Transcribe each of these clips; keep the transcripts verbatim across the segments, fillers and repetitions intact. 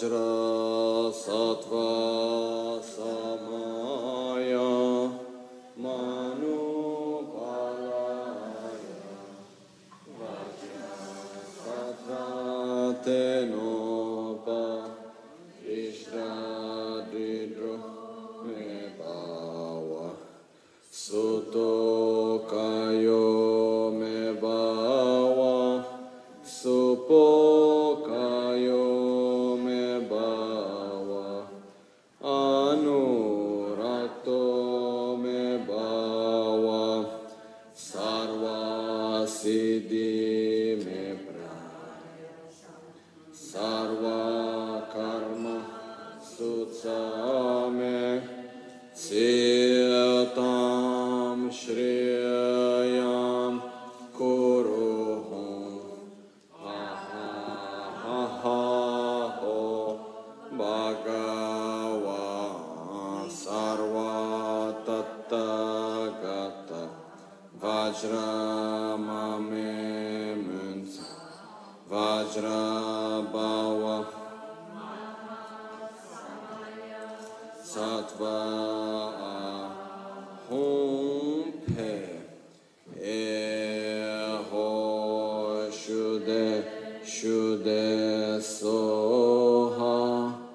Vajra Sattva Samaya Manu Palaya Vajra Sattva Tenopa Ishra Dridro Me Bhava Suto Kayo Me Bhava Supo Kayo Me Bhava Anurakto Me Bhava Sarva Siddhi Me Praya Sarva Karma Sutsa Me Siyatam Shriyam Kuruhum Ha ha ha ha ho Bhagava Sarva Tattagata Vajra Mame Munsa Vajra Bhava Sattva Ahom Pe E Ho Shude Shude Soha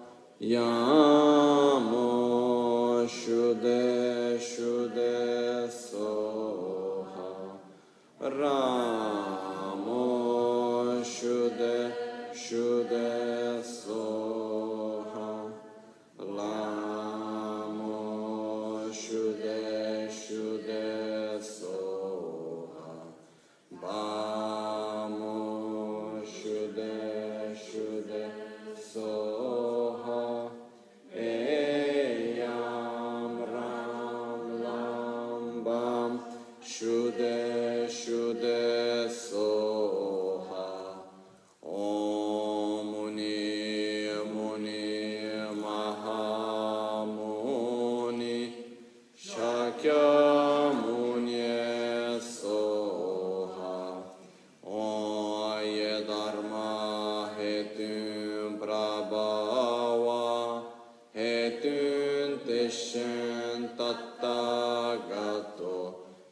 Yamo Shude Shude Soha Ramo Shude Shude Soha Lamo Shude Shude Soha Bamo Shude Shude Soha Eyam Ram Lam Bam Shude Shude Soha Om Muni Muni Mahamuni Shakyamuni Soha Oye Dharma Hetun Prabhava Hetun Teshen Tattagato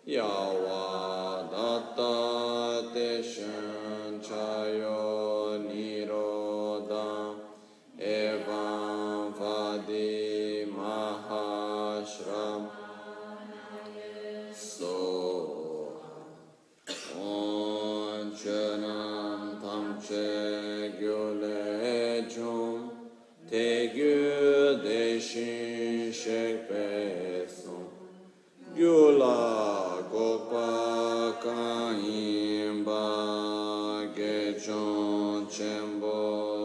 Yavadatta Teshen Chayo Niroda Evam Vadi Mahashram Soha On Chenam Tamche Gyulechum Te Gyu Deshin Shekpeson Gyula Gopa Kaimba Gechon Chembo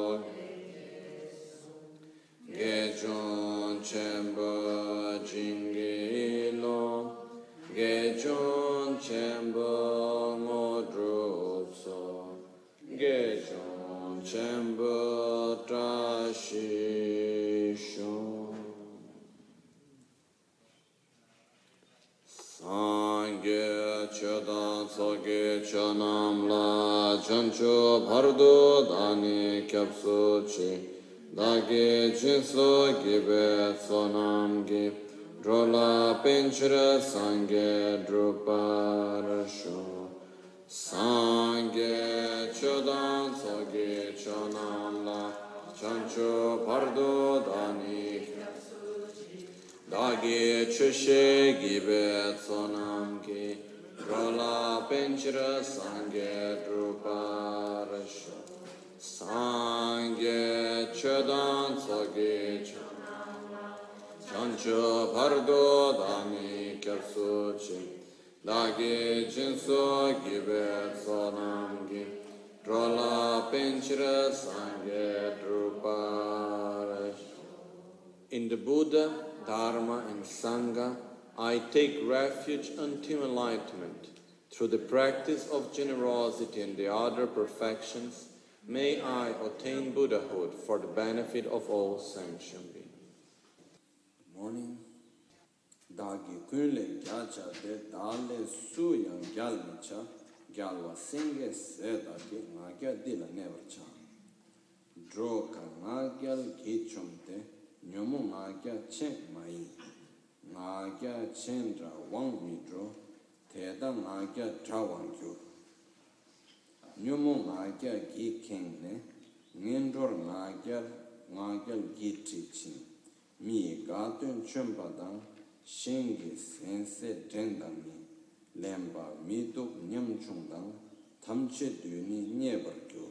Gechon Chembo Jingilo Gechon Chembo Modrupso Gechon Chembo Trashishon Sangye Chodan Soge Chonam La Chancho Bhardo Dani Kyapso Chi Dagi Jinso Gibe Sonam Gi Drola Pinchra Sangye Druparasho Sangye Chodan Soge Chonam La Chancho Bhardo Dani Dagi Chushe Gibe Sonam Gi Drola Pinchra Sangye Druparasho Sangye Chodan Soge Chancho Bhardo Dani Kyapsuchi Dagi Jinso Gibe Sonam Gi Drola Pinchra Sangye Druparash. In the Buddha, Dharma and Sangha, I take refuge until enlightenment. Through the practice of generosity and the other perfections, may I attain Buddhahood for the benefit of all sentient beings. Good morning. Dagi kunle gyacha de dale suya gyalmicha gyalwa singe se dagi ngagya dila nevarcha. dro ka nga gyal gi chumte nyomu nga gya chen mai nga gya chen ra wang mi dro teda nga gya tra wang kyu nyomu nga gya gi ken ne ngendor nga gya nga gya gi tri chin mi ga tun chumpa dang shengi sense dendang mi lemba mi duk nyam chung dang tamche duni nyebar kyu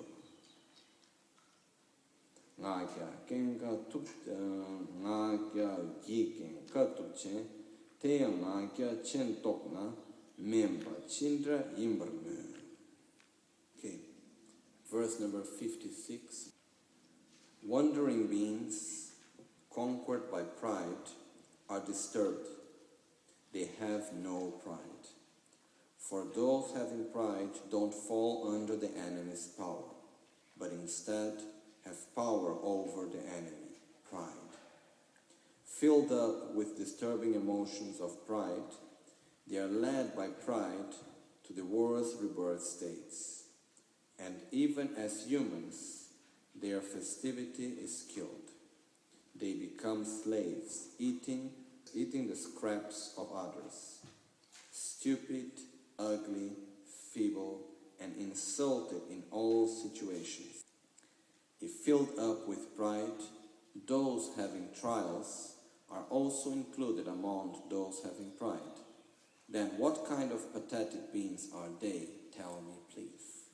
nga kya kenga tuk nga kya gi kenga tuk chen te nga kya chen tok na memba chindra imbar me. Okay, verse number fifty-six. Wandering beings conquered by pride are disturbed. They have no pride. For those having pride don't fall under the enemy's power, but instead have power over the enemy, pride. Filled up with disturbing emotions of pride, they are led by pride to the worst rebirth states. And even as humans, their festivity is killed. They become slaves, eating, eating the scraps of others. Stupid, ugly, feeble, and insulted in all situations. If filled up with pride, those having trials are also included among those having pride. Then what kind of pathetic beings are they? Tell me, please.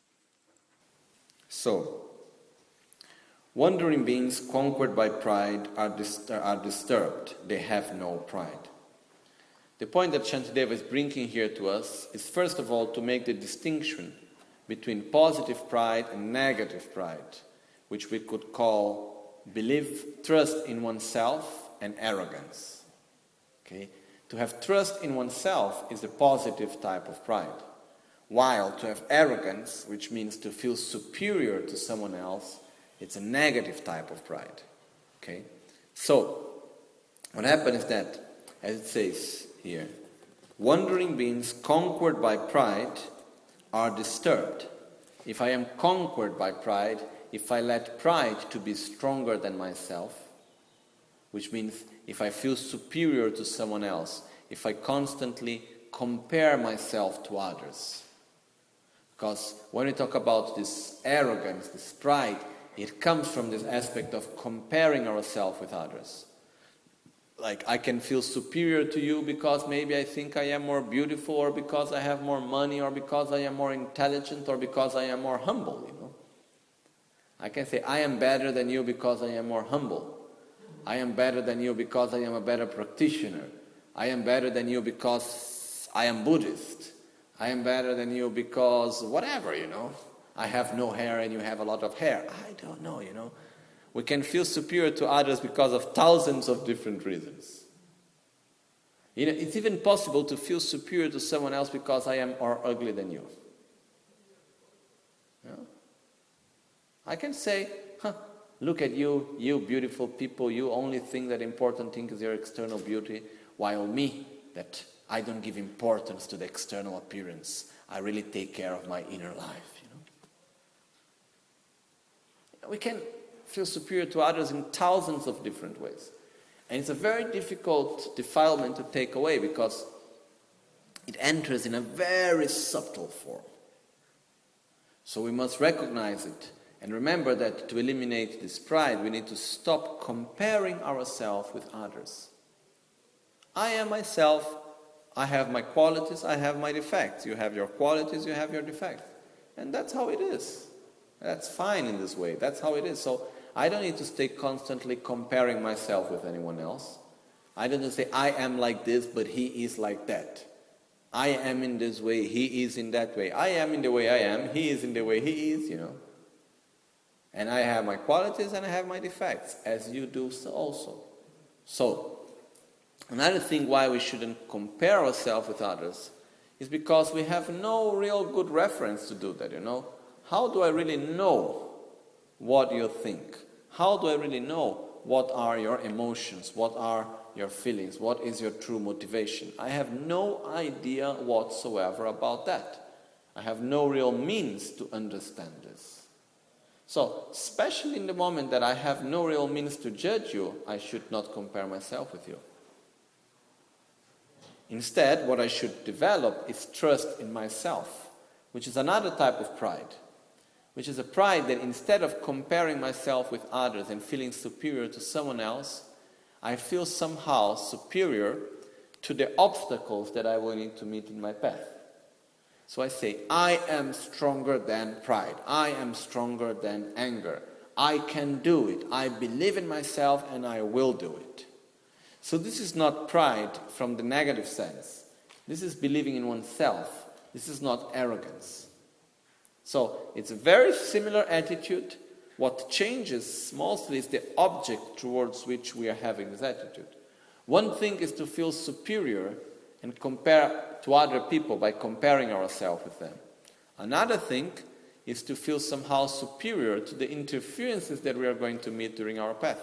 So, wandering beings conquered by pride are, dis- are disturbed. They have no pride. The point that Shantideva is bringing here to us is first of all to make the distinction between positive pride and negative pride, which we could call belief, trust in oneself, and arrogance. Okay? To have trust in oneself is a positive type of pride, while to have arrogance, which means to feel superior to someone else, it's a negative type of pride. Okay? So, what happens is that, as it says here, wandering beings conquered by pride are disturbed. If I am conquered by pride, if I let pride to be stronger than myself, which means if I feel superior to someone else, if I constantly compare myself to others. Because when we talk about this arrogance, this pride, it comes from this aspect of comparing ourselves with others. Like, I can feel superior to you because maybe I think I am more beautiful, or because I have more money, or because I am more intelligent, or because I am more humble, you know. I can say, I am better than you because I am more humble. I am better than you because I am a better practitioner. I am better than you because I am Buddhist. I am better than you because whatever, you know. I have no hair and you have a lot of hair. I don't know, you know. We can feel superior to others because of thousands of different reasons. You know, it's even possible to feel superior to someone else because I am more ugly than you. You know? I can say, huh, look at you, you beautiful people, you only think that important thing is your external beauty, while me, that I don't give importance to the external appearance. I really take care of my inner life, you know. We can feel superior to others in thousands of different ways. And it's a very difficult defilement to take away because it enters in a very subtle form. So we must recognize it and remember that to eliminate this pride, we need to stop comparing ourselves with others. I am myself, I have my qualities, I have my defects. You have your qualities, you have your defects. And that's how it is. That's fine in this way. That's how it is. So I don't need to stay constantly comparing myself with anyone else. I don't need to say, I am like this, but he is like that. I am in this way, he is in that way. I am in the way I am, he is in the way he is, you know. And I have my qualities and I have my defects, as you do so also. So, another thing why we shouldn't compare ourselves with others is because we have no real good reference to do that, you know. How do I really know what you think? How do I really know what are your emotions? What are your feelings? What is your true motivation? I have no idea whatsoever about that. I have no real means to understand this. So, especially in the moment that I have no real means to judge you, I should not compare myself with you. Instead, what I should develop is trust in myself, which is another type of pride, which is a pride that instead of comparing myself with others and feeling superior to someone else, I feel somehow superior to the obstacles that I will need to meet in my path. So I say, I am stronger than pride. I am stronger than anger. I can do it. I believe in myself and I will do it. So this is not pride from the negative sense. This is believing in oneself. This is not arrogance. So it's a very similar attitude. What changes mostly is the object towards which we are having this attitude. One thing is to feel superior and compare to other people by comparing ourselves with them. Another thing is to feel somehow superior to the interferences that we are going to meet during our path.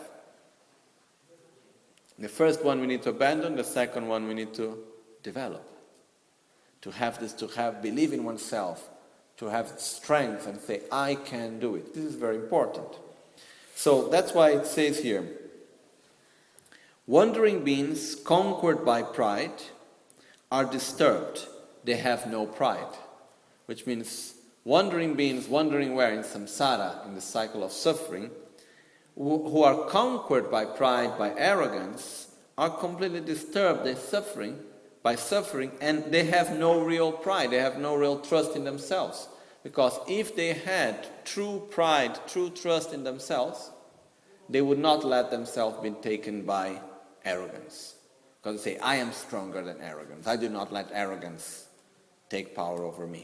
The first one we need to abandon, the second one we need to develop. To have this, to have believe in oneself, to have strength and say, I can do it. This is very important. So that's why it says here, wandering beings conquered by pride are disturbed. They have no pride. Which means wandering beings, wandering where? In samsara, in the cycle of suffering, who are conquered by pride, by arrogance, are completely disturbed. They're suffering by suffering, and they have no real pride. They have no real trust in themselves. Because if they had true pride, true trust in themselves, they would not let themselves be taken by arrogance. Because they say, I am stronger than arrogance. I do not let arrogance take power over me.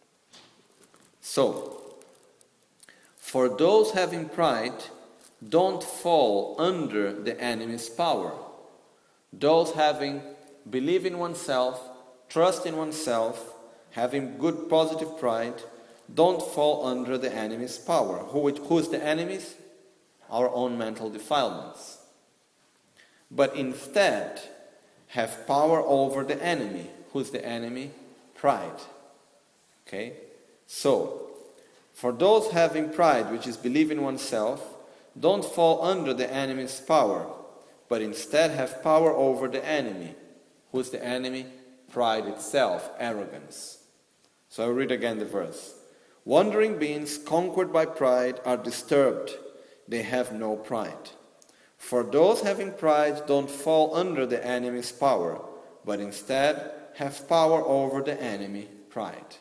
So, for those having pride, don't fall under the enemy's power. Those having believe in oneself, trust in oneself, having good positive pride, don't fall under the enemy's power. Who, who is the enemies? Our own mental defilements. But instead, have power over the enemy. Who's the enemy? Pride. Okay? So, for those having pride, which is believe in oneself, don't fall under the enemy's power, but instead have power over the enemy. Who's the enemy? Pride itself, arrogance. So I read again the verse. Wandering beings conquered by pride are disturbed. They have no pride. For those having pride don't fall under the enemy's power, but instead have power over the enemy, pride.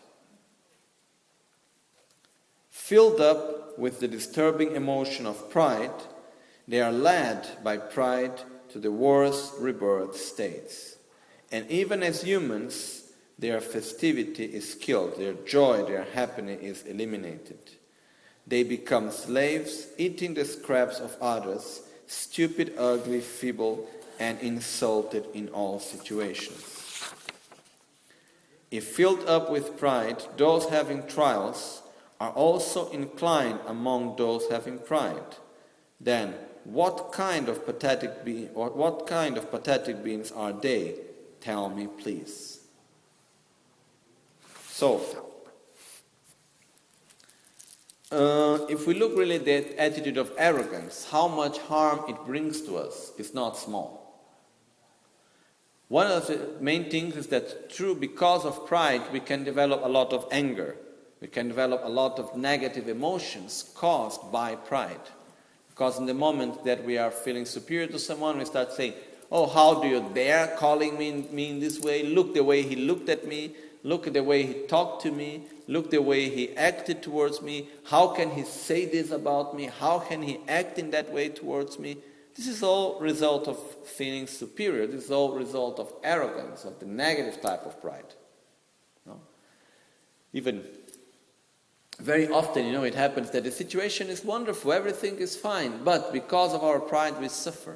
Filled up with the disturbing emotion of pride, they are led by pride to the worst rebirth states. And even as humans, their festivity is killed, their joy, their happiness is eliminated. They become slaves, eating the scraps of others, stupid, ugly, feeble, and insulted in all situations. If filled up with pride, those having trials are also inclined among those having pride. Then, what kind of pathetic be- or what kind of pathetic beings are they? Tell me, please. So, uh, if we look really at the attitude of arrogance, how much harm it brings to us is not small. One of the main things is that through, because of pride, we can develop a lot of anger. We can develop a lot of negative emotions caused by pride. Because in the moment that we are feeling superior to someone, we start saying, oh, how do you dare calling me, me in this way? Look the way he looked at me. Look at the way he talked to me. Look the way he acted towards me. How can he say this about me? How can he act in that way towards me? This is all result of feeling superior. This is all result of arrogance, of the negative type of pride. No? Even very often, you know, it happens that the situation is wonderful, everything is fine, but because of our pride we suffer.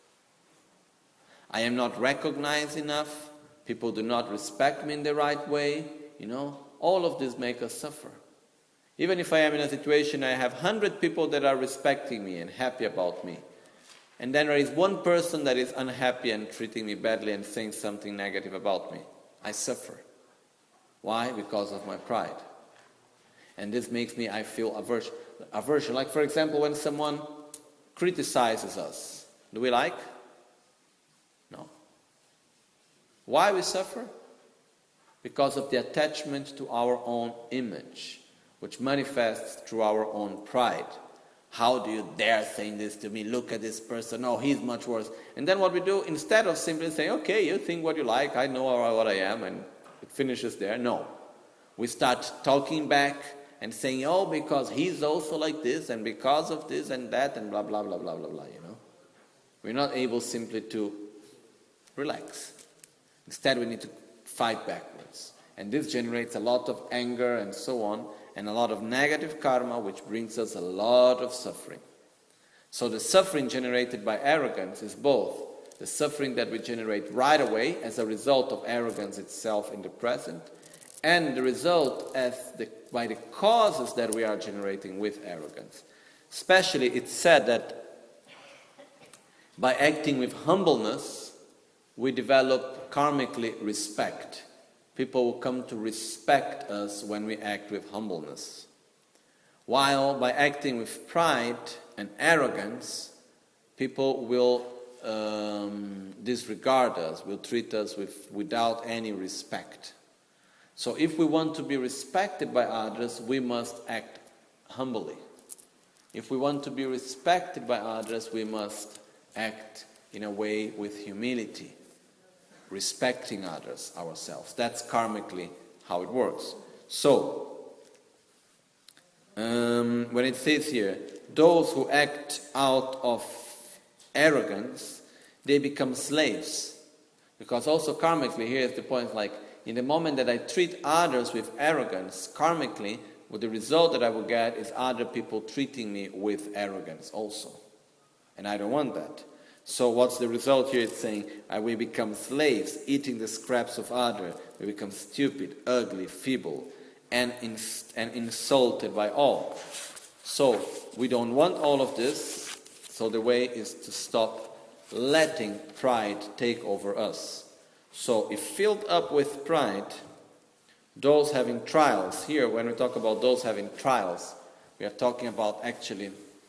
I am not recognized enough, people do not respect me in the right way, you know, all of this make us suffer. Even if I am in a situation, I have one hundred people that are respecting me and happy about me, and then there is one person that is unhappy and treating me badly and saying something negative about me. I suffer. Why? Because of my pride. And this makes me, I feel aversion. aversion. Like, for example, when someone criticizes us, do we like? No. Why we suffer? Because of the attachment to our own image, which manifests through our own pride. How do you dare say this to me? Look at this person. Oh, he's much worse. And then what we do, instead of simply saying, okay, you think what you like, I know what I am, and it finishes there. No. We start talking back and saying, oh, because he's also like this, and because of this and that, and blah, blah, blah, blah, blah, blah, you know. We're not able simply to relax. Instead, we need to fight backwards. And this generates a lot of anger and so on, and a lot of negative karma, which brings us a lot of suffering. So the suffering generated by arrogance is both the suffering that we generate right away as a result of arrogance itself in the present, and the result as the, by the causes that we are generating with arrogance. Especially, it's said that by acting with humbleness, we develop karmically respect. People will come to respect us when we act with humbleness. While by acting with pride and arrogance, people will um, disregard us, will treat us with, without any respect. So if we want to be respected by others, we must act humbly. If we want to be respected by others, we must act in a way with humility, respecting others, ourselves. That's karmically how it works. So, um, when it says here, those who act out of arrogance, they become slaves. Because also karmically, here's the point, like, in the moment that I treat others with arrogance, karmically, well, the result that I will get is other people treating me with arrogance also. And I don't want that. So what's the result here? It's saying uh, we become slaves, eating the scraps of others. We become stupid, ugly, feeble, and, ins- and insulted by all. So we don't want all of this. So the way is to stop letting pride take over us. So if filled up with pride, those having trials, here when we talk about those having trials, we are talking about actually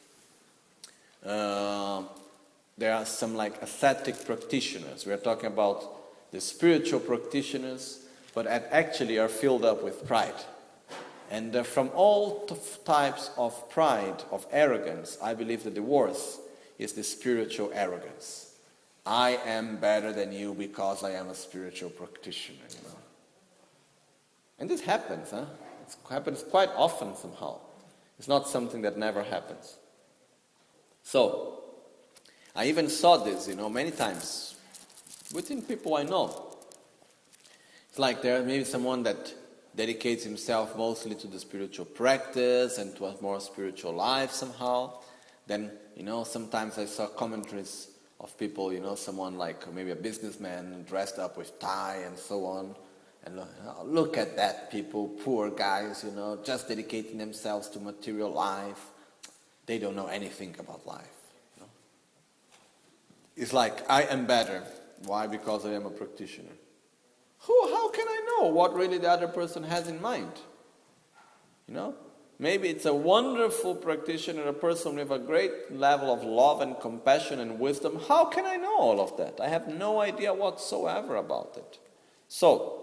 uh, there are some like ascetic practitioners. We are talking about the spiritual practitioners, but actually are filled up with pride. And uh, from all t- types of pride, of arrogance, I believe that the worst is the spiritual arrogance. I am better than you because I am a spiritual practitioner, you know. And this happens, huh? It happens quite often somehow. It's not something that never happens. So, I even saw this, you know, many times within people I know. It's like there may be someone that dedicates himself mostly to the spiritual practice and to a more spiritual life somehow. Then, you know, sometimes I saw commentaries of people, you know, someone like maybe a businessman dressed up with tie and so on. And look, look at that people, poor guys, you know, just dedicating themselves to material life. They don't know anything about life. You know? It's like, I am better. Why? Because I am a practitioner. Who? How can I know what really the other person has in mind? You know? Maybe it's a wonderful practitioner, a person with a great level of love and compassion and wisdom. How can I know all of that? I have no idea whatsoever about it. So,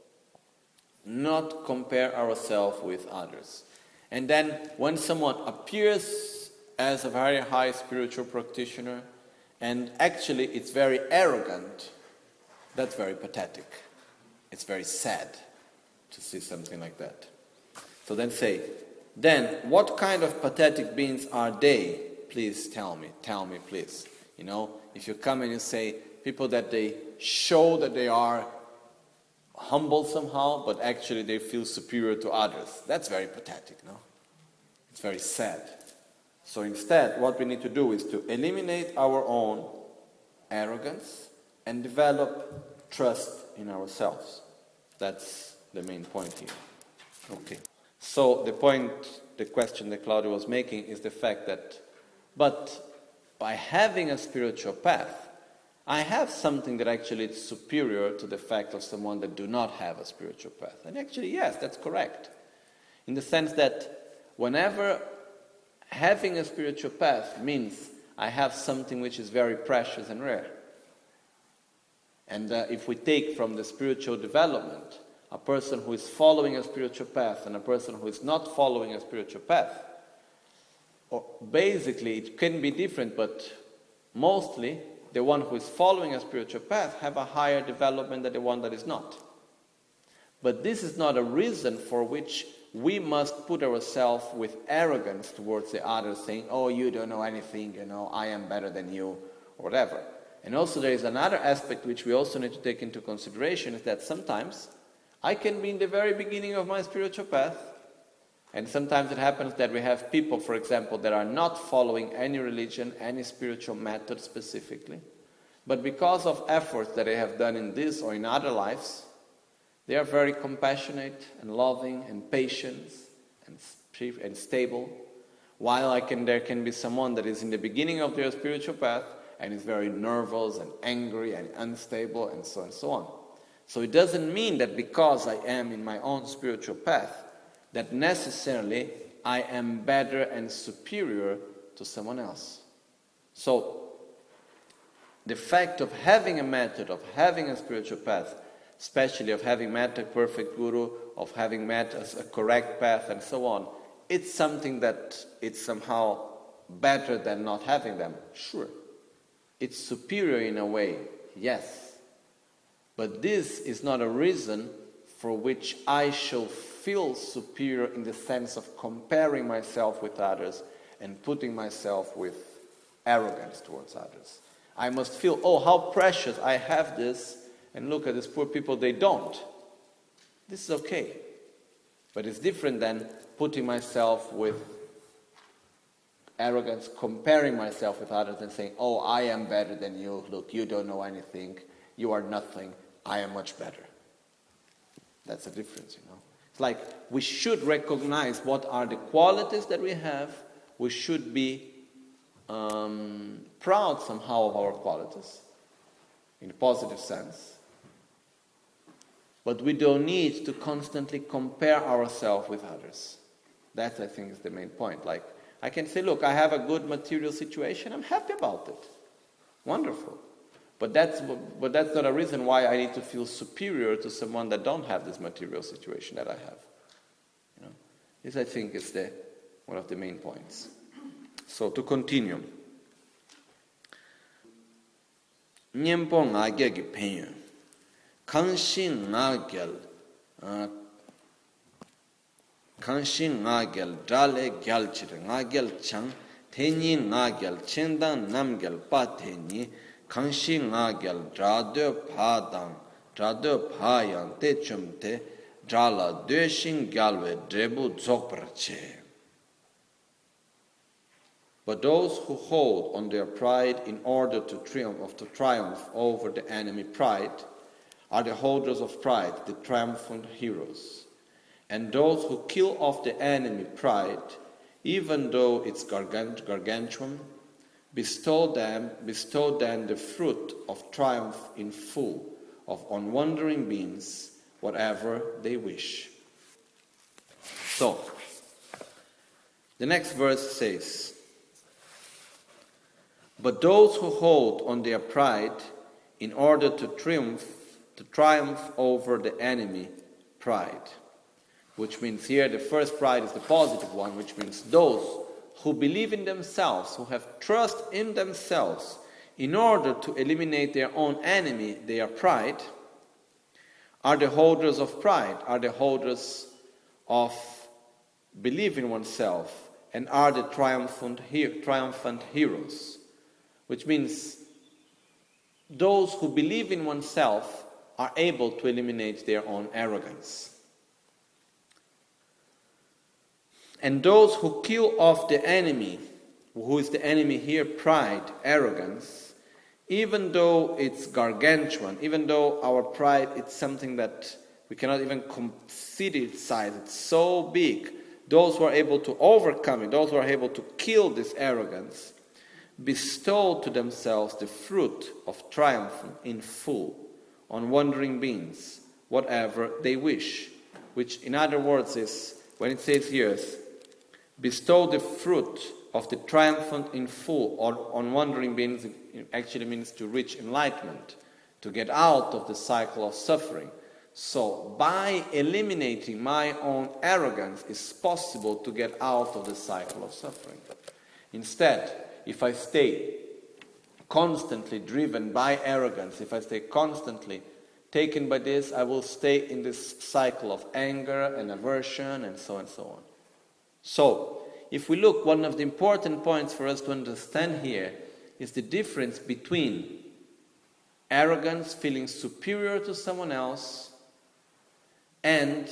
not compare ourselves with others. And then when someone appears as a very high spiritual practitioner and actually it's very arrogant, that's very pathetic. It's very sad to see something like that. So then say, then what kind of pathetic beings are they? Please tell me, tell me please. You know, if you come and you say people that they show that they are humble somehow, but actually they feel superior to others. That's very pathetic, no? It's very sad. So instead, what we need to do is to eliminate our own arrogance and develop trust in ourselves. That's the main point here. Okay. So the point, the question that Claudio was making is the fact that, but by having a spiritual path, I have something that actually is superior to the fact of someone that do not have a spiritual path. And actually, yes, that's correct. In the sense that whenever having a spiritual path means I have something which is very precious and rare. And uh, if we take from the spiritual development, a person who is following a spiritual path and a person who is not following a spiritual path, or basically it can be different, but mostly the one who is following a spiritual path have a higher development than the one that is not. But this is not a reason for which we must put ourselves with arrogance towards the others, saying, oh, you don't know anything, you know, I am better than you, or whatever. And also there is another aspect which we also need to take into consideration, is that sometimes I can be in the very beginning of my spiritual path, and sometimes it happens that we have people, for example, that are not following any religion, any spiritual method specifically, but because of efforts that they have done in this or in other lives, they are very compassionate and loving and patient and, and stable, while I can, there can be someone that is in the beginning of their spiritual path and is very nervous and angry and unstable and so on and so on. So it doesn't mean that because I am in my own spiritual path, that necessarily I am better and superior to someone else. So the fact of having a method, of having a spiritual path, especially of having met a perfect guru, of having met a, a correct path and so on, it's something that it's somehow better than not having them. Sure. It's superior in a way, yes. But this is not a reason for which I shall feel superior in the sense of comparing myself with others and putting myself with arrogance towards others. I must feel, oh, how precious I have this, and look at these poor people, they don't. This is okay. But it's different than putting myself with arrogance, comparing myself with others and saying, oh, I am better than you, look, you don't know anything, you are nothing, I am much better. That's the difference, you know. It's like we should recognize what are the qualities that we have. We should be um, proud somehow of our qualities, in a positive sense. But we don't need to constantly compare ourselves with others. That, I think, is the main point. Like, I can say, look, I have a good material situation, I'm happy about it. Wonderful. But that's, but that's not a reason why I need to feel superior to someone that don't have this material situation that I have. You know? This, I think, is the, one of the main points. So, to continue. Nyempo ngage ki penyo. Kanshin ngagel. Kanshin ngagel dale gyalchir ngagel chang. Tenyi ngagel chendang namgel pa tenyi. Kanshin ngagel drado padang. Drado payang te chumte. Drala döshin galwe drebu dzokprache. But those who hold on their pride in order to triumph, to triumph over the enemy pride are the holders of pride, the triumphant heroes. And those who kill off the enemy pride, even though it's gargant- gargantuan, bestow them, bestow them the fruit of triumph in full, of unwandering beings, whatever they wish. So, the next verse says, but those who hold on their pride in order to triumph, to triumph over the enemy pride, which means here the first pride is the positive one, which means those who believe in themselves, who have trust in themselves, in order to eliminate their own enemy, their pride, are the holders of pride, are the holders of belief in oneself, and are the triumphant, triumphant heroes. Which means those who believe in oneself are able to eliminate their own arrogance. And those who kill off the enemy, who is the enemy here, pride, arrogance, even though it's gargantuan, even though our pride is something that we cannot even consider its size, it's so big, those who are able to overcome it, those who are able to kill this arrogance, bestow to themselves the fruit of triumph in full on wandering beings, whatever they wish. Which, in other words, is, when it says here, bestow the fruit of the triumphant in full, or on wandering beings, it actually means to reach enlightenment, to get out of the cycle of suffering. So, by eliminating my own arrogance, it's possible to get out of the cycle of suffering. Instead, if I stay constantly driven by arrogance, if I stay constantly taken by this, I will stay in this cycle of anger and aversion and so on and so on. So, if we look, one of the important points for us to understand here is the difference between arrogance, feeling superior to someone else, and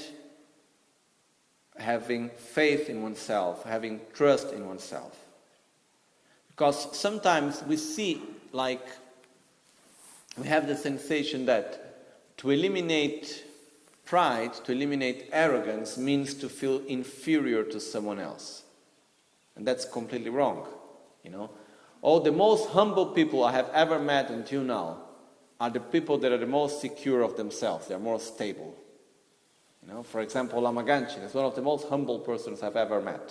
having faith in oneself, having trust in oneself. Because sometimes we see, like, we have the sensation that to eliminate pride, to eliminate arrogance, means to feel inferior to someone else. And that's completely wrong, you know. All the most humble people I have ever met until now are the people that are the most secure of themselves. They are more stable. You know, for example, Lama Ganchen is one of the most humble persons I've ever met.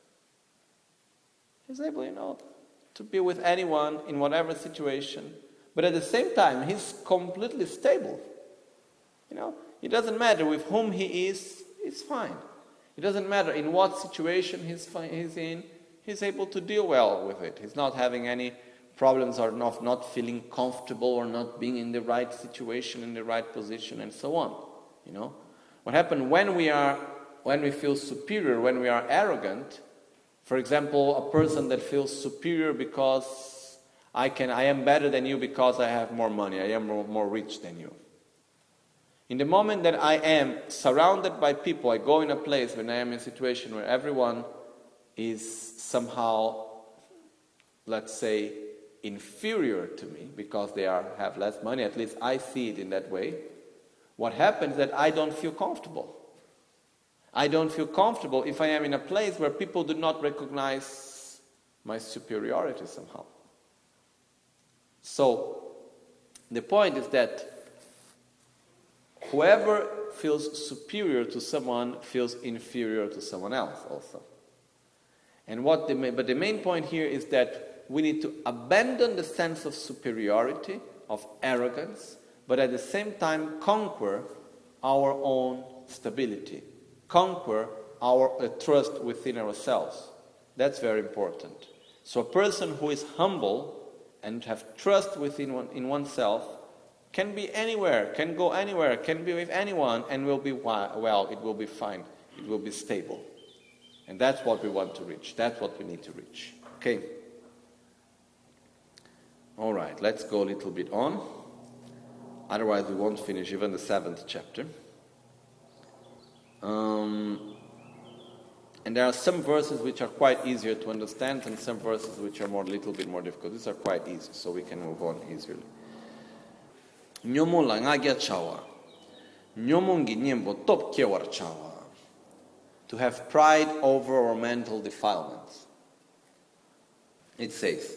He's able, you know, to be with anyone in whatever situation, but at the same time, he's completely stable. You know, it doesn't matter with whom he is, he's fine. It doesn't matter in what situation he's, he's in, he's able to deal well with it. He's not having any problems or not, not feeling comfortable or not being in the right situation, in the right position, and so on. You know, what happens when we are, when we feel superior, when we are arrogant? For example, a person that feels superior because I can, I am better than you because I have more money, I am more, more rich than you. In the moment that I am surrounded by people, I go in a place when I am in a situation where everyone is somehow, let's say, inferior to me because they are have less money, at least I see it in that way. What happens is that I don't feel comfortable. I don't feel comfortable if I am in a place where people do not recognize my superiority somehow. So, the point is that whoever feels superior to someone feels inferior to someone else also. And what the main, but the main point here is that we need to abandon the sense of superiority, of arrogance, but at the same time conquer our own stability, conquer our uh, trust within ourselves. That's very important. So a person who is humble and have trust within one, in oneself can be anywhere, can go anywhere, can be with anyone, and will be well, it will be fine, it will be stable. And that's what we want to reach, that's what we need to reach. Okay? All right, let's go a little bit on. Otherwise we won't finish even the seventh chapter. Um, and there are some verses which are quite easier to understand and some verses which are more a little bit more difficult. These are quite easy, so we can move on easily. Nyomo la ngagya chawa. Nyomo ngi nyembo top kewar chawa. To have pride over our mental defilements. It says,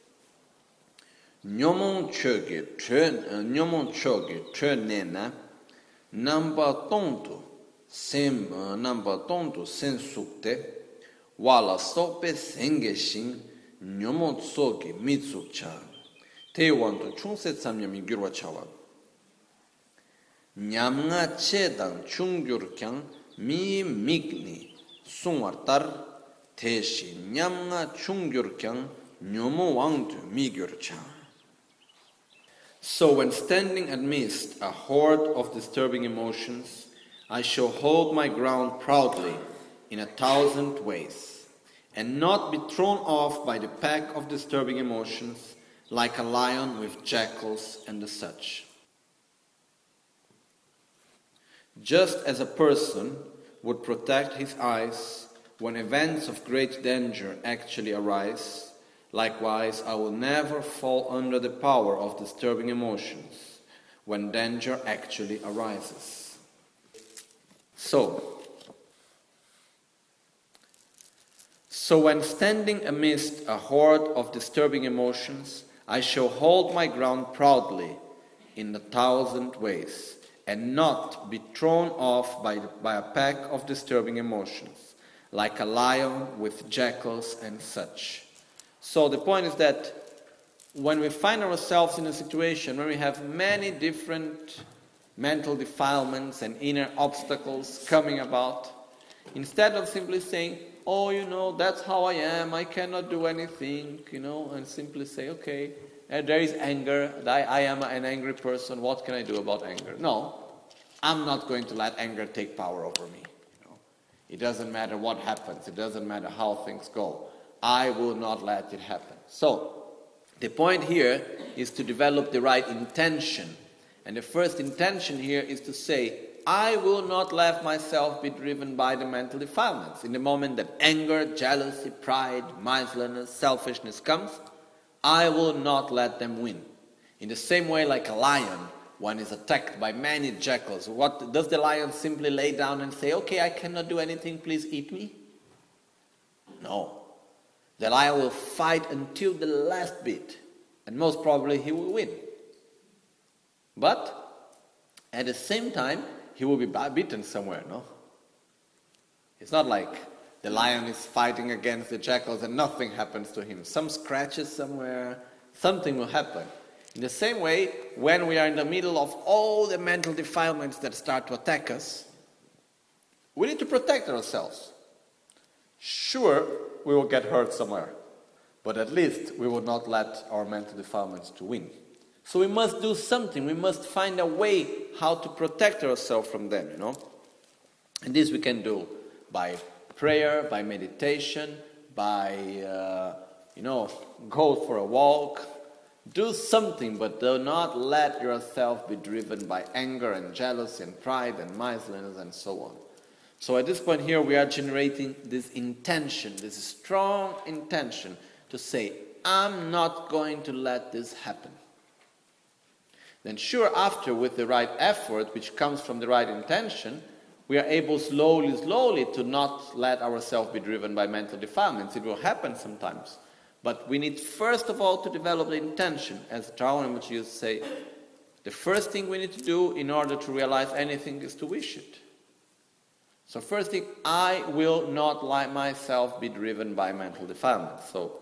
Nyomon choge tre nyomon choge tre nena namba tonto sem namba tonto sen sukte wala sope sengeshin nyomon tsoge mitsukcha te wanto chungse samyami gyurwa chawa nyamnga chedan chungyur kyang mi migni sungwartar teshi nyamnga chungyur kyang nyomo wangtu mi gyurcha. So when standing amidst a horde of disturbing emotions, I shall hold my ground proudly in a thousand ways, and not be thrown off by the pack of disturbing emotions like a lion with jackals and such. Just as a person would protect his eyes when events of great danger actually arise, likewise, I will never fall under the power of disturbing emotions when danger actually arises. So, so when standing amidst a horde of disturbing emotions, I shall hold my ground proudly in a thousand ways, and not be thrown off by, the, by a pack of disturbing emotions, like a lion with jackals and such. So the point is that when we find ourselves in a situation where we have many different mental defilements and inner obstacles coming about, instead of simply saying, oh, you know, that's how I am, I cannot do anything, you know, and simply say, okay, uh, there is anger, I, I am an angry person, what can I do about anger? No, I'm not going to let anger take power over me. You know? It doesn't matter what happens, it doesn't matter how things go. I will not let it happen. So, the point here is to develop the right intention. And the first intention here is to say, I will not let myself be driven by the mental defilements. In the moment that anger, jealousy, pride, miserliness, selfishness comes, I will not let them win. In the same way, like a lion, one is attacked by many jackals. What does the lion simply lay down and say, okay, I cannot do anything, please eat me? No. The lion will fight until the last bit, and most probably he will win. But at the same time, he will be beaten somewhere, no? It's not like the lion is fighting against the jackals and nothing happens to him. Some scratches somewhere, something will happen. In the same way, when we are in the middle of all the mental defilements that start to attack us, we need to protect ourselves. Sure, we will get hurt somewhere, but at least we will not let our mental defilements to win. So we must do something. We must find a way how to protect ourselves from them, you know. And this we can do by prayer, by meditation, by, uh, you know, go for a walk. Do something, but do not let yourself be driven by anger and jealousy and pride and miserliness and so on. So at this point here, we are generating this intention, this strong intention to say, I'm not going to let this happen. Then sure, after, with the right effort, which comes from the right intention, we are able slowly, slowly to not let ourselves be driven by mental defilements. It will happen sometimes. But we need first of all to develop the intention. As Darwin would used to say, the first thing we need to do in order to realize anything is to wish it. So first thing, I will not let myself be driven by mental defilements. So,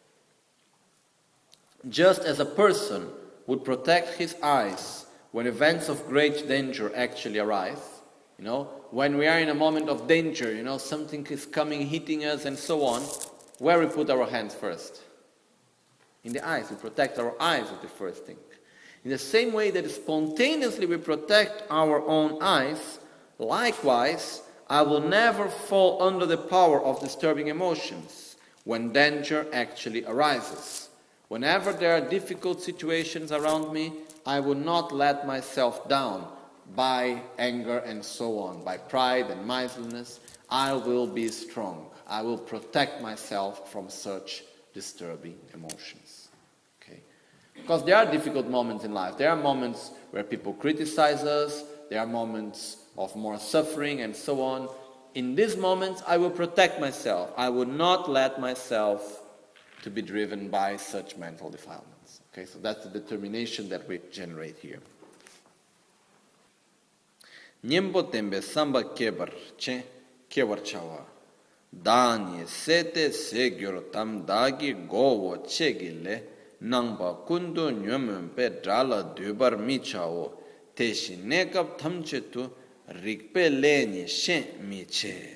just as a person would protect his eyes when events of great danger actually arise, you know, when we are in a moment of danger, you know, something is coming, hitting us and so on, where we put our hands first? In the eyes. We protect our eyes with the first thing. In the same way that spontaneously we protect our own eyes, likewise, I will never fall under the power of disturbing emotions when danger actually arises. Whenever there are difficult situations around me, I will not let myself down by anger and so on, by pride and miserliness. I will be strong. I will protect myself from such disturbing emotions. Okay? Because there are difficult moments in life. There are moments where people criticize us. There are moments of more suffering and so on. In these moments, I will protect myself. I will not let myself to be driven by such mental defilements. Okay, so that's the determination that we generate here. Nyembo tembe samba kebar che kebar chawa. Dani sete segyor tam dagi gowo chegile nangba kundu nyömön pe drala dubar mi chawo teshi nekap thamche tu rikpe leni shen mi che.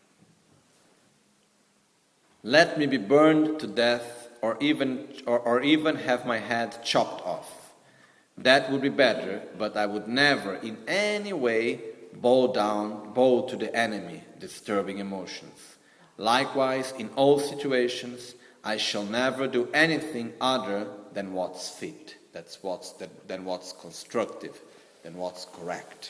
Let me be burned to death or even or, or even have my head chopped off. That would be better, but I would never in any way bow down, bow to the enemy, disturbing emotions. Likewise, in all situations, I shall never do anything other than what's fit, that's what's, that, than what's constructive, than what's correct.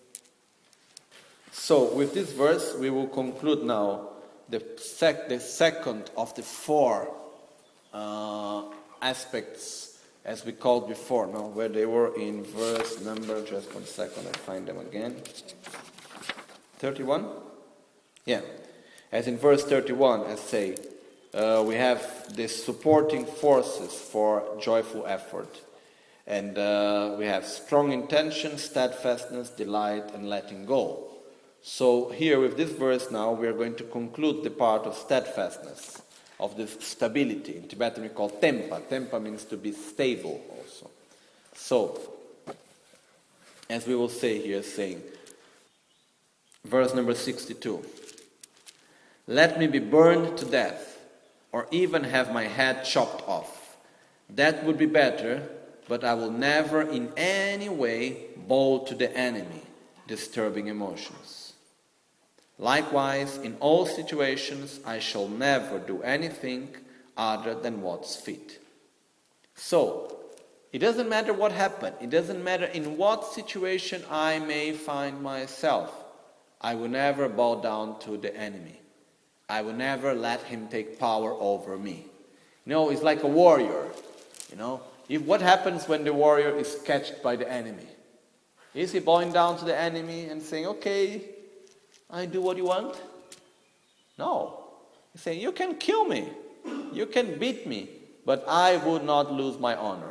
So, with this verse, we will conclude now the, sec- the second of the four uh, aspects, as we called before, no? Where they were in verse number, just one second, I find them again. thirty-one? Yeah. As in verse thirty-one, as say, uh, we have the supporting forces for joyful effort. And uh, we have strong intention, steadfastness, delight, and letting go. So here with this verse now, we are going to conclude the part of steadfastness, of this stability. In Tibetan we call tempa. Tempa means to be stable also. So, as we will say here, saying, verse number sixty-two, let me be burned to death, or even have my head chopped off. That would be better, but I will never in any way bow to the enemy, disturbing emotions. Likewise, in all situations, I shall never do anything other than what's fit. So, it doesn't matter what happened. It doesn't matter in what situation I may find myself. I will never bow down to the enemy. I will never let him take power over me. You know, it's like a warrior. You know, if what happens when the warrior is catched by the enemy? Is he bowing down to the enemy and saying, okay, I do what you want? No. He's saying, you can kill me. You can beat me. But I would not lose my honor.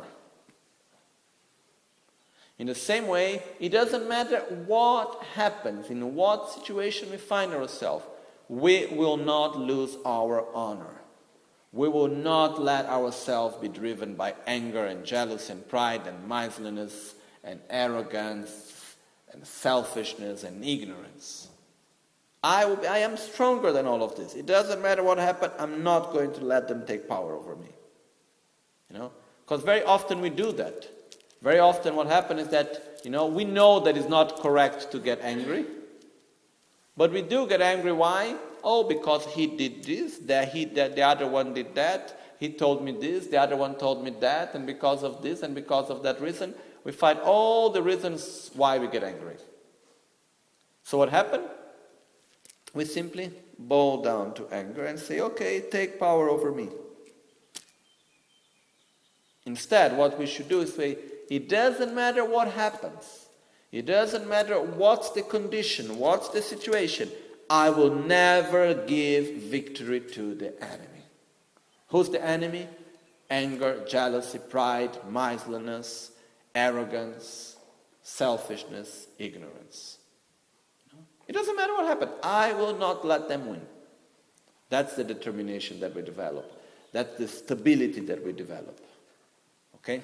In the same way, it doesn't matter what happens, in what situation we find ourselves, we will not lose our honor. We will not let ourselves be driven by anger and jealousy and pride and miserliness and arrogance and selfishness and ignorance. I, will be, I am stronger than all of this. It doesn't matter what happened, I'm not going to let them take power over me. You know, because very often we do that. Very often what happens is that, you know, we know that it's not correct to get angry. But we do get angry. Why? Oh, because he did this, that he, that the other one did that, he told me this, the other one told me that, and because of this and because of that reason, we find all the reasons why we get angry. So what happened? We simply bow down to anger and say, okay, take power over me. Instead, what we should do is say, it doesn't matter what happens. It doesn't matter what's the condition, what's the situation. I will never give victory to the enemy. Who's the enemy? Anger, jealousy, pride, miserliness, arrogance, selfishness, ignorance. It doesn't matter what happened. I will not let them win. That's the determination that we develop. That's the stability that we develop. Okay?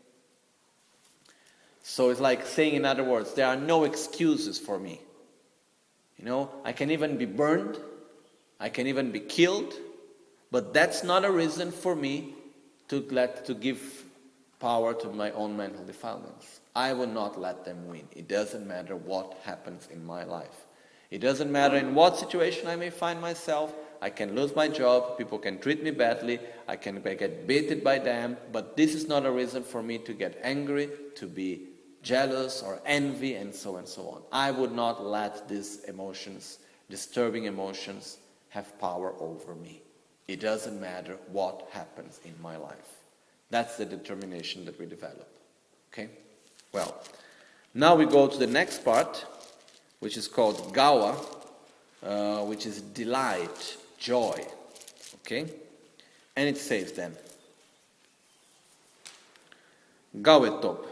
So it's like saying, in other words, there are no excuses for me. You know, I can even be burned, I can even be killed, but that's not a reason for me to let to give power to my own mental defilements. I will not let them win. It doesn't matter what happens in my life. It doesn't matter in what situation I may find myself. I can lose my job, people can treat me badly, I can get beaten by them, but this is not a reason for me to get angry, to be jealous or envy, and so and so on. I would not let these emotions, disturbing emotions, have power over me. It doesn't matter what happens in my life. That's the determination that we develop. Okay? Well, now we go to the next part, which is called gawa, uh, which is delight, joy. Okay? And it says then, gawe top.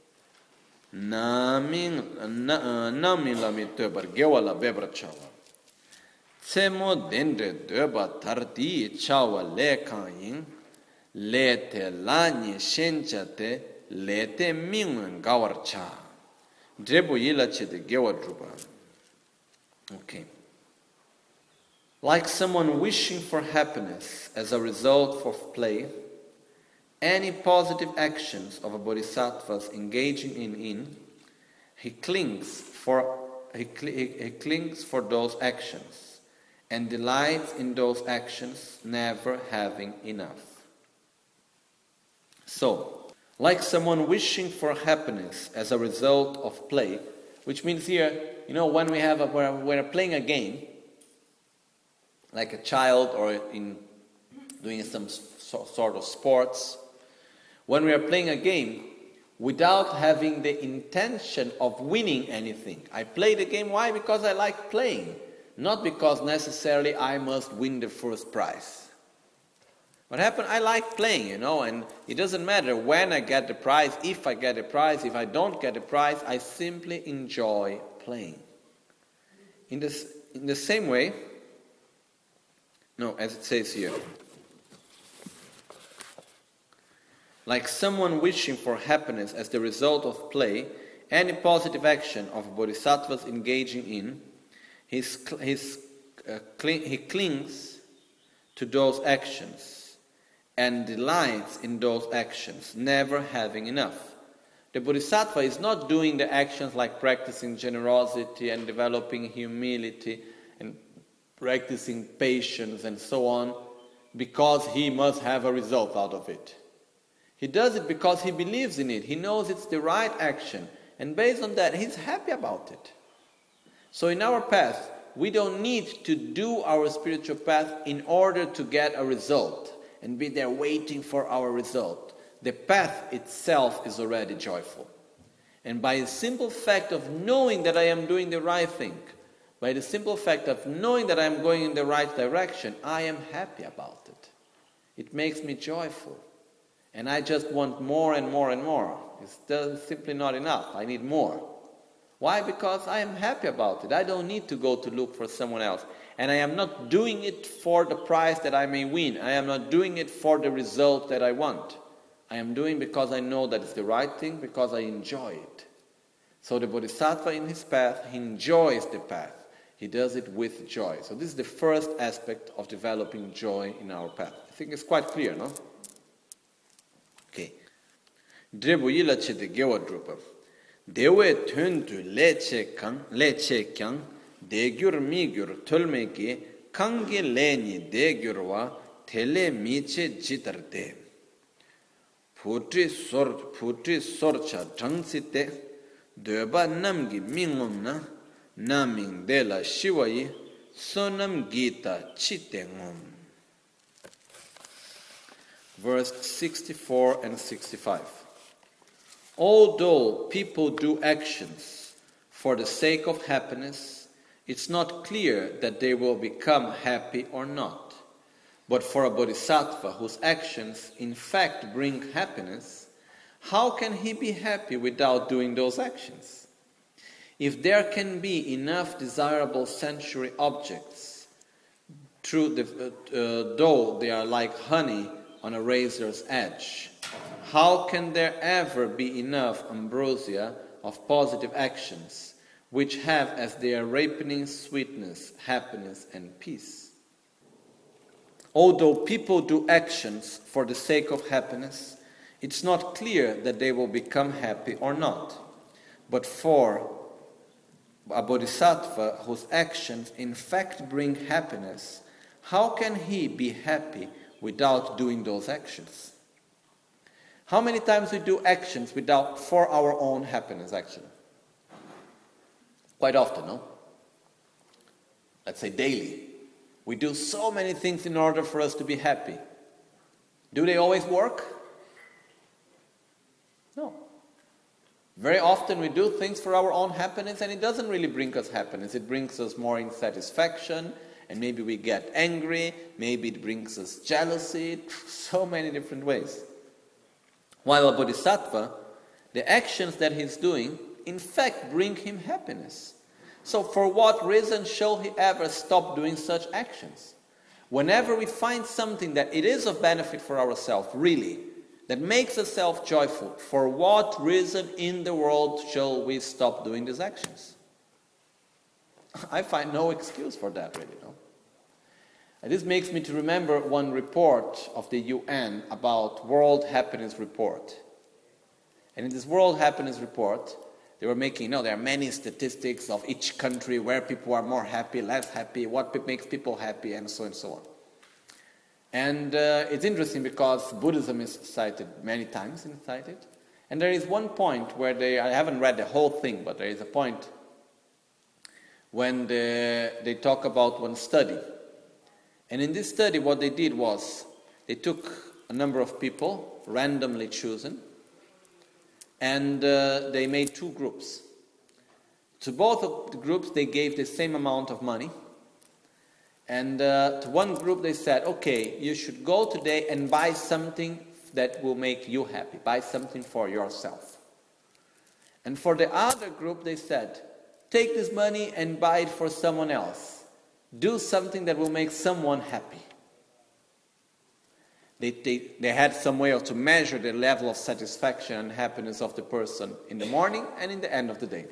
Namin namin la mi töbar gewala bebra chawa. Tsemo dendre döba tardi chawa le kain le te lani shenchate le te mingun gawar cha. Drebu yila che de gewa druba. Okay. Like someone wishing for happiness as a result of play, any positive actions of a bodhisattva's engaging in, in he clings for he, cl- he clings for those actions and delights in those actions, never having enough. So, like someone wishing for happiness as a result of play, which means here, you know, when we have a, when we're playing a game, like a child or in doing some so, sort of sports. When we are playing a game, without having the intention of winning anything. I play the game, why? Because I like playing. Not because necessarily I must win the first prize. What happened? I like playing, you know, and it doesn't matter when I get the prize, if I get a prize, if I don't get a prize, I simply enjoy playing. In, this, in the same way, no, as it says here, like someone wishing for happiness as the result of play, any positive action of a bodhisattva is engaging in, his, his, uh, cling, he clings to those actions and delights in those actions, never having enough. The bodhisattva is not doing the actions like practicing generosity and developing humility and practicing patience and so on because he must have a result out of it. He does it because he believes in it. He knows it's the right action. And based on that, he's happy about it. So in our path, we don't need to do our spiritual path in order to get a result and be there waiting for our result. The path itself is already joyful. And by the simple fact of knowing that I am doing the right thing, by the simple fact of knowing that I am going in the right direction, I am happy about it. It makes me joyful. And I just want more and more and more. It's simply not enough. I need more. Why? Because I am happy about it. I don't need to go to look for someone else. And I am not doing it for the prize that I may win. I am not doing it for the result that I want. I am doing because I know that it's the right thing, because I enjoy it. So the bodhisattva in his path, he enjoys the path. He does it with joy. So this is the first aspect of developing joy in our path. I think it's quite clear, no? Okay. Drebu yila chete gewa drupa. Dewe tundu leche kang, leche kyang, degyur migyur tulmeki, kangi leni degyurwa, tele miche jitarde. Putri sor, putri sorcha drangsite, deba namgi mingumna, naming dela shivayi, sonam gita chitengum. Verse sixty-four and sixty-five. Although people do actions for the sake of happiness, it's not clear that they will become happy or not. But for a bodhisattva whose actions in fact bring happiness, how can he be happy without doing those actions? If there can be enough desirable sensory objects, through the, uh, though they are like honey on a razor's edge, how can there ever be enough ambrosia of positive actions, which have as their ripening sweetness, happiness, and peace? Although people do actions for the sake of happiness, it's not clear that they will become happy or not. But for a bodhisattva whose actions in fact bring happiness, how can he be happy without doing those actions? How many times we do actions without for our own happiness, actually? Quite often, no? Let's say daily. We do so many things in order for us to be happy. Do they always work? No. Very often we do things for our own happiness and it doesn't really bring us happiness. It brings us more insatisfaction and maybe we get angry. Maybe it brings us jealousy. So many different ways. While a bodhisattva, the actions that he's doing, in fact, bring him happiness. So for what reason shall he ever stop doing such actions? Whenever we find something that it is of benefit for ourselves, really, that makes us self-joyful, for what reason in the world shall we stop doing these actions? I find no excuse for that, really, no? And this makes me to remember one report of the U N about World Happiness Report. And in this World Happiness Report, they were making, you know, there are many statistics of each country where people are more happy, less happy, what makes people happy, and so on and so on. And uh, it's interesting because Buddhism is cited many times, in cited. And there is one point where they, I haven't read the whole thing, but there is a point when the, they talk about one study. And in this study, what they did was, they took a number of people, randomly chosen, and uh, they made two groups. To both of the groups, they gave the same amount of money. And uh, to one group, they said, okay, you should go today and buy something that will make you happy. Buy something for yourself. And for the other group, they said, take this money and buy it for someone else. Do something that will make someone happy. They, they, they had some way to measure the level of satisfaction and happiness of the person in the morning and in the end of the day.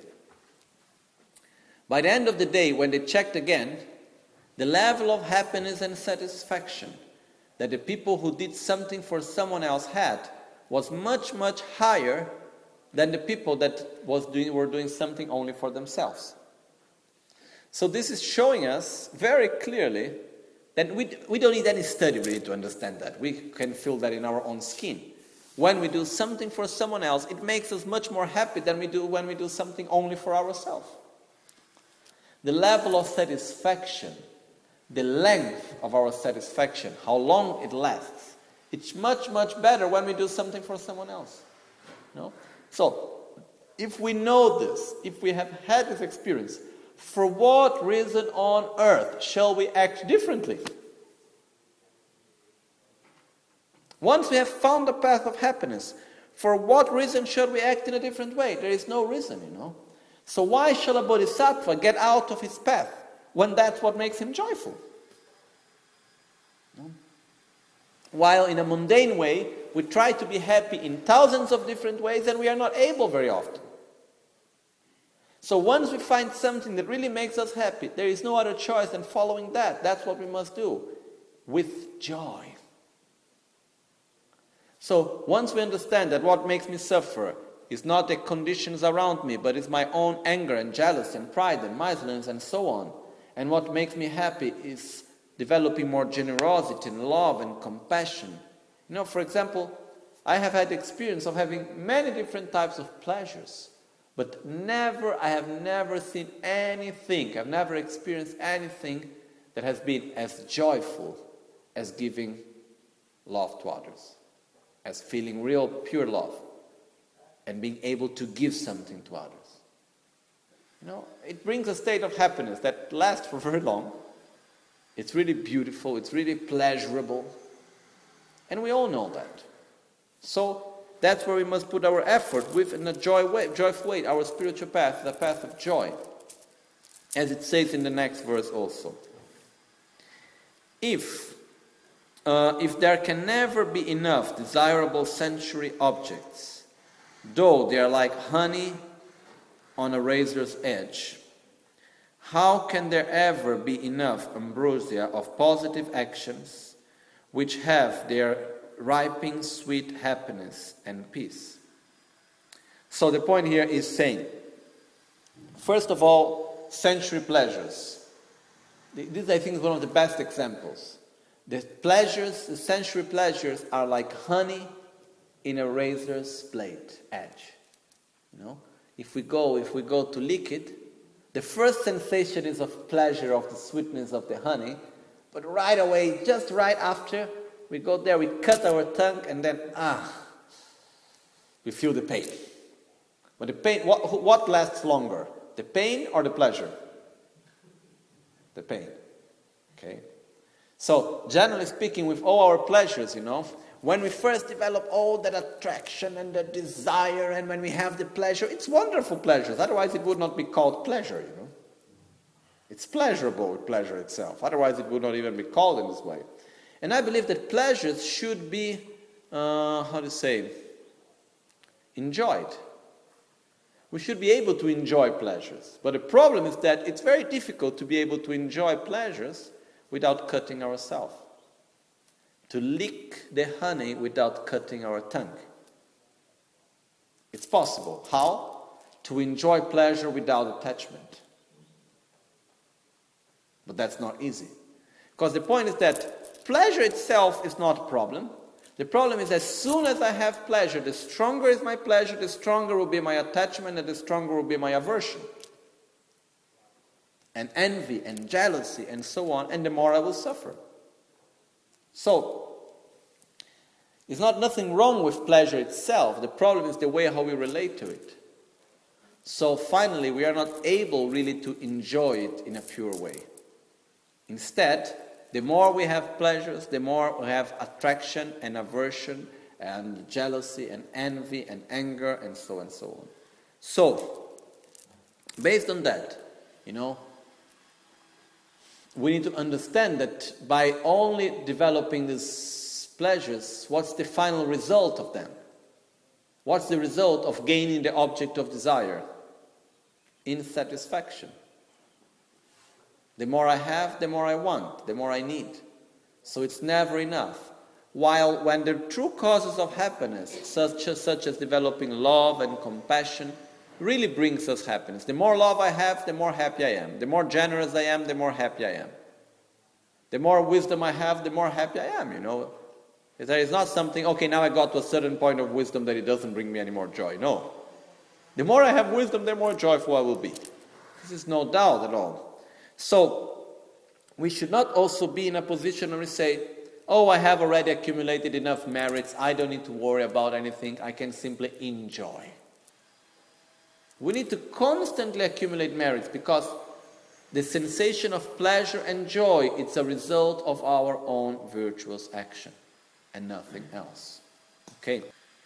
By the end of the day, when they checked again, the level of happiness and satisfaction that the people who did something for someone else had was much, much higher than the people that was doing, were doing something only for themselves. So this is showing us very clearly that we, we don't need any study really to understand that. We can feel that in our own skin. When we do something for someone else, it makes us much more happy than we do when we do something only for ourselves. The level of satisfaction, the length of our satisfaction, how long it lasts, it's much, much better when we do something for someone else. No? So, if we know this, if we have had this experience, for what reason on earth shall we act differently? Once we have found the path of happiness, for what reason should we act in a different way? There is no reason, you know. So why shall a bodhisattva get out of his path when that's what makes him joyful? No? While in a mundane way, we try to be happy in thousands of different ways and we are not able very often. So once we find something that really makes us happy, there is no other choice than following that. That's what we must do, with joy. So once we understand that what makes me suffer is not the conditions around me, but it's my own anger and jealousy and pride and miserliness and so on, and what makes me happy is developing more generosity and love and compassion. You know, for example, I have had the experience of having many different types of pleasures. But never, I have never seen anything, I've never experienced anything that has been as joyful as giving love to others, as feeling real pure love, and being able to give something to others. You know, it brings a state of happiness that lasts for very long. It's really beautiful, it's really pleasurable, and we all know that. So, that's where we must put our effort with in a joy way, joyful way, our spiritual path, the path of joy. As it says in the next verse also. If, uh, if there can never be enough desirable sensory objects, though they are like honey on a razor's edge, how can there ever be enough ambrosia of positive actions which have their ripening sweet happiness and peace? So the point here is saying, first of all, sensory pleasures. This, I think, is one of the best examples. The pleasures, the sensory pleasures are like honey in a razor's blade edge. You know, if we go, if we go to lick it, the first sensation is of pleasure, of the sweetness of the honey, but right away, just right after, we go there, we cut our tongue, and then, ah, we feel the pain. But the pain, what, what lasts longer? The pain or the pleasure? The pain. Okay? So, generally speaking, with all our pleasures, you know, when we first develop all that attraction and the desire, and when we have the pleasure, it's wonderful pleasures. Otherwise, it would not be called pleasure, you know. It's pleasurable with pleasure itself. Otherwise, it would not even be called in this way. And I believe that pleasures should be, uh, how to say, enjoyed. We should be able to enjoy pleasures. But the problem is that it's very difficult to be able to enjoy pleasures without cutting ourselves. To lick the honey without cutting our tongue. It's possible. How? To enjoy pleasure without attachment. But that's not easy. Because the point is that pleasure itself is not a problem. The problem is as soon as I have pleasure, the stronger is my pleasure, the stronger will be my attachment, and the stronger will be my aversion. And envy and jealousy and so on, and the more I will suffer. So, it's not nothing wrong with pleasure itself. The problem is the way how we relate to it. So finally, we are not able really to enjoy it in a pure way. Instead, the more we have pleasures, the more we have attraction and aversion and jealousy and envy and anger and so on and so on. So, Based on that, you know, we need to understand that by only developing these pleasures, what's the final result of them? What's the result of gaining the object of desire? Insatisfaction. The more I have, the more I want, the more I need. So it's never enough. While when the true causes of happiness, such as, such as developing love and compassion, really brings us happiness. The more love I have, the more happy I am. The more generous I am, the more happy I am. The more wisdom I have, the more happy I am, you know. There is not something, okay, now I got to a certain point of wisdom that it doesn't bring me any more joy. No. The more I have wisdom, the more joyful I will be. This is no doubt at all. So, we should not also be in a position where we say, oh, I have already accumulated enough merits, I don't need to worry about anything, I can simply enjoy. We need to constantly accumulate merits because the sensation of pleasure and joy is a result of our own virtuous action and nothing else. Okay?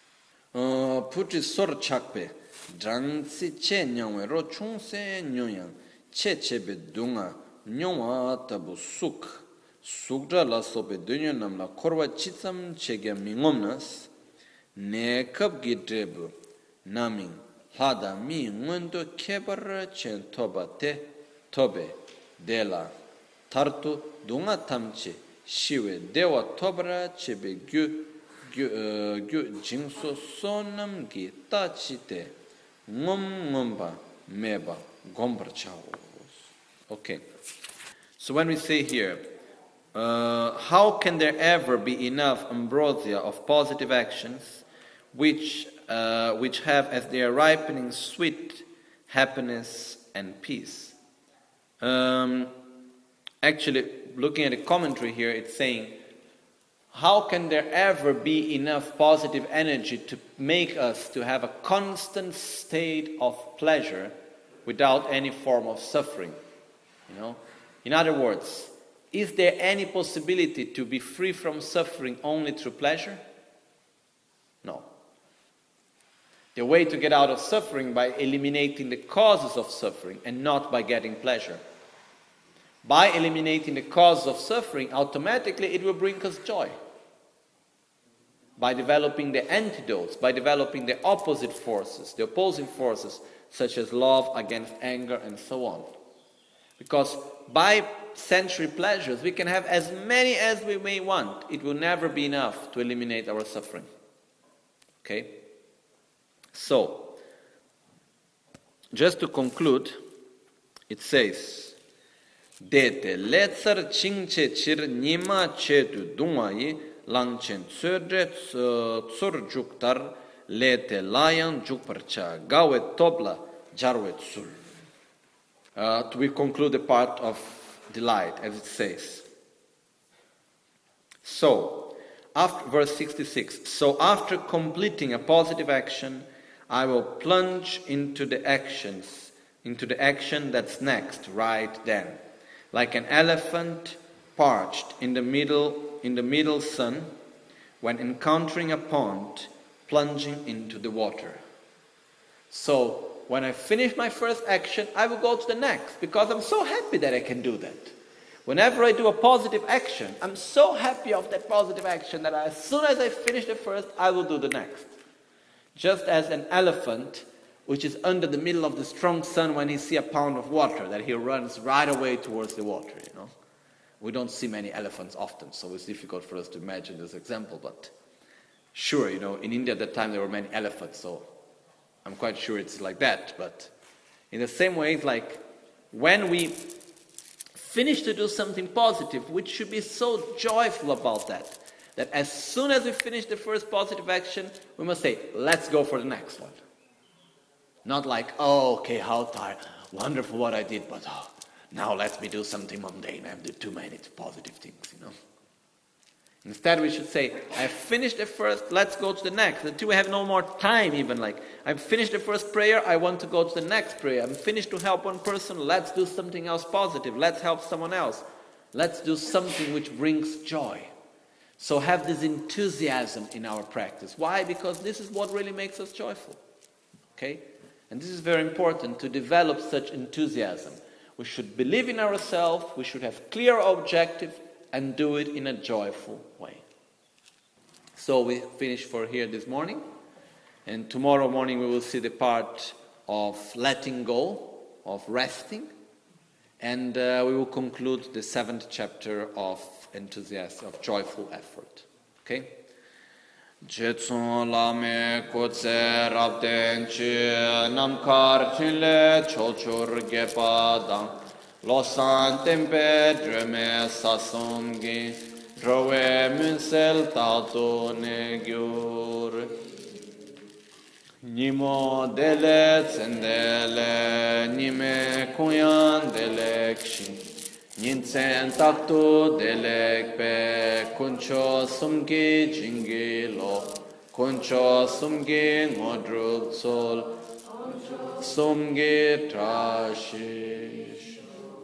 Puti sor chakpe drangsi che nyangwe ro chungse nyoyang che chebe dunga nyongwa tabu suk sukdra la sobe dunyo namla korwa chitsam chege mingomnas ne kap gidrebu naming hada mi ngundo kebar chen toba te tobe dela tartu dunga tamche shiwe dewa tobra chebe gyu gyu gyu jingso sonam gi tachi te ngom ngomba meba gombar chao. Okay. So when we say here, uh, how can there ever be enough ambrosia of positive actions which uh, which have as their ripening sweet happiness and peace? Um, actually, looking at the commentary here, it's saying, how can there ever be enough positive energy to make us to have a constant state of pleasure without any form of suffering? You know, in other words, is there any possibility to be free from suffering only through pleasure? No. The way to get out of suffering by eliminating the causes of suffering and not by getting pleasure. By eliminating the causes of suffering, automatically it will bring us joy. By developing the antidotes, by developing the opposite forces, the opposing forces, such as love against anger and so on. Because by sensory pleasures, we can have as many as we may want. It will never be enough to eliminate our suffering. Okay? So, just to conclude, it says, Dete letzar chingche chir nima chetu dungayi langchen tsödre tsur juktar lete layan jukparcha gawe tobla jarwe tsul. Uh, we conclude the part of delight, as it says. So, after verse sixty-six, so after completing a positive action, I will plunge into the actions, into the action that's next, right then, like an elephant parched in the middle, in the middle sun, when encountering a pond, plunging into the water. So, when I finish my first action, I will go to the next, because I'm so happy that I can do that. Whenever I do a positive action, I'm so happy of that positive action that I, as soon as I finish the first, I will do the next. Just as an elephant, which is under the middle of the strong sun, when he sees a pound of water, that he runs right away towards the water, you know. We don't see many elephants often, so it's difficult for us to imagine this example, but sure, you know, in India at that time there were many elephants, so I'm quite sure it's like that. But in the same way, it's like when we finish to do something positive, we should be so joyful about that, that as soon as we finish the first positive action, we must say, let's go for the next one. Not like, oh, okay, how tired, wonderful what I did, but oh, now let me do something mundane. I've done too many positive things, you know. Instead, we should say, I've finished the first, let's go to the next. Until we have no more time even, like, I've finished the first prayer, I want to go to the next prayer. I'm finished to help one person, let's do something else positive. Let's help someone else. Let's do something which brings joy. So have this enthusiasm in our practice. Why? Because this is what really makes us joyful. Okay? And this is very important to develop such enthusiasm. We should believe in ourselves, we should have clear objective, and do it in a joyful way. So we finish for here this morning, and tomorrow morning we will see the part of letting go, of resting, and uh, we will conclude the seventh chapter of enthusiasm, of joyful effort. Okay? Jetsun lame kotse rabden chi namkar chinle chochur gepadang losan tempe dreme sasumgi drowe munsel tato negyur nimo dele tsendele nime kunyan dele kshin Ninsen takto delek pe kuncho sumgi jingi lo kuncho sumgi ngodruk sol sumgi trashish.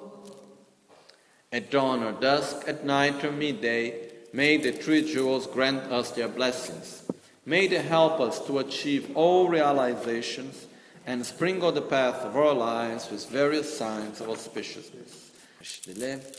At dawn or dusk, at night or midday, may the three jewels grant us their blessings. May they help us to achieve all realizations and sprinkle the path of our lives with various signs of auspiciousness.